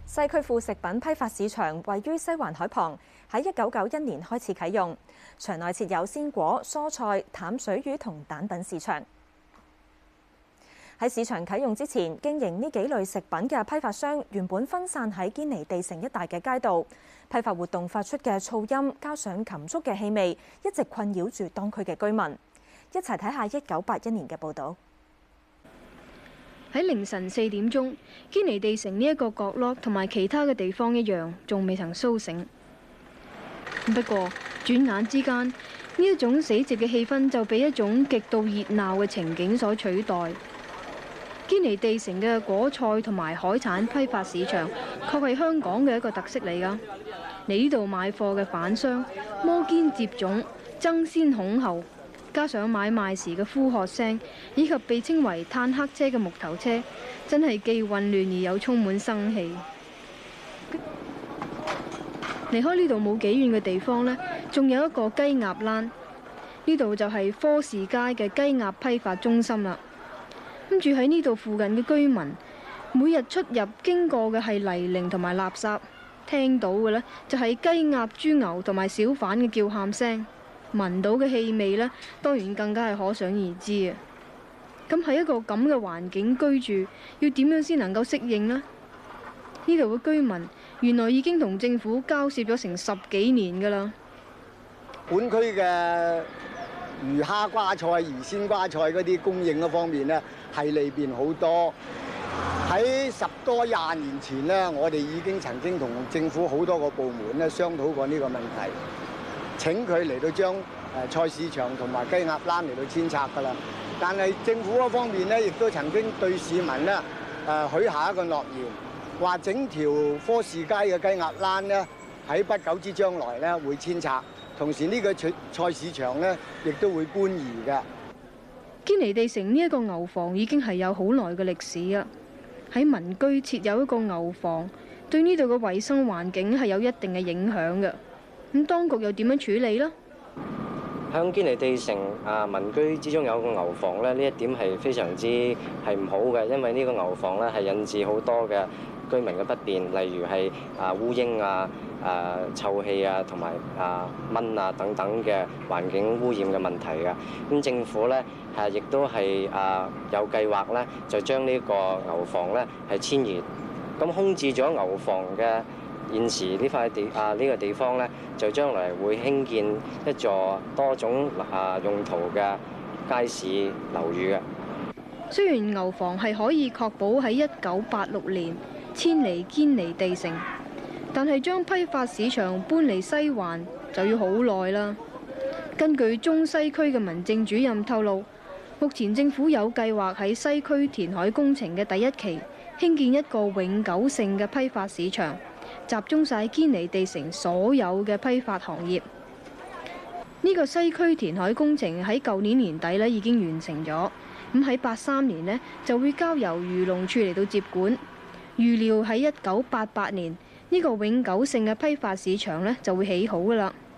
西區副食品批發市場位於西環海旁，喺1991年開始啟用。場內設有鮮果、蔬菜、淡水魚同蛋品市場。喺市場啟用之前，經營呢幾類食品嘅批發商原本分散喺堅尼地城一帶嘅街道，批發活動發出嘅噪音加上禽畜嘅氣味，一直困擾住當區嘅居民。一齊睇下1981年嘅報導。 喺凌晨4點鐘，堅尼地城呢一個角落同埋其他嘅地方一樣，仲未曾甦醒。不過轉眼之間，呢一種死寂嘅氣氛就被一種極度熱鬧嘅情景所取代。堅尼地城嘅果菜同埋海產批發市場，確係香港嘅一個特色嚟㗎。嚟呢度買貨嘅販商摩肩接踵、爭先恐後。加上買賣時嘅呼喝聲，以及被稱為炭黑車嘅木頭車，真係既混亂而又充滿生氣。離開呢度冇幾遠嘅地方呢，仲有一個雞鴨欄，呢度就係科士街嘅雞鴨批發中心啦。咁住喺呢度附近嘅居民，每日出入經過嘅係泥濘同埋垃圾，聽到嘅呢就係雞鴨豬牛同埋小販嘅叫喊聲。聞到嘅氣味呢，當然更加係可想而知啊！咁喺一個咁嘅環境居住，要點樣先能夠適應呢？呢度嘅居民原來已經同政府交涉咗成10幾年㗎啦。 本區嘅魚蝦瓜菜、魚鮮瓜菜嗰啲供應嗰方面呢，係利便好多。喺10多20年前呢，我哋已經曾經同政府好多個部門呢商討過呢個問題。請佢嚟到將菜市場同埋雞鴨欄嚟到遷拆㗎啦，但係政府嗰方面咧，亦都曾經對市民咧許下一個諾言，話整條科士街嘅雞鴨欄咧喺不久之將來咧會遷拆，同時呢個菜市場咧亦都會搬移嘅。 堅尼地城呢一個牛房已經係有好耐嘅歷史啊！喺民居設有一個牛房，對呢度嘅衞生環境係有一定嘅影響嘅。咁當局又點樣處理呢？ 喺堅尼地城民居之中有個牛房咧，呢一點係非常之係唔好嘅，因為呢個牛房咧係引致好多嘅居民嘅不便，例如係烏蠅臭氣同埋蚊等等嘅環境污染嘅問題嘅。咁政府咧亦都係有計劃咧，就將呢個牛房咧係遷移，咁空置咗牛房嘅。現時呢塊地呢個地方呢，就將來會興建一座多種用途嘅街市樓宇嘅。 雖然牛房係可以確保喺1986年遷離堅尼地城，但係將批發市場搬離西環就要好耐啦。根據中西區嘅民政主任透露，目前政府有計劃喺西區填海工程嘅第1期興建一個永久性嘅批發市場。集中晒堅尼地城所有嘅批發行業。呢個西區填海工程喺舊年年底已經完成咗，咁喺83年呢就會交由漁農處嚟到接管。預料喺1988年呢個永久性嘅批發市場呢就會起好㗎喇。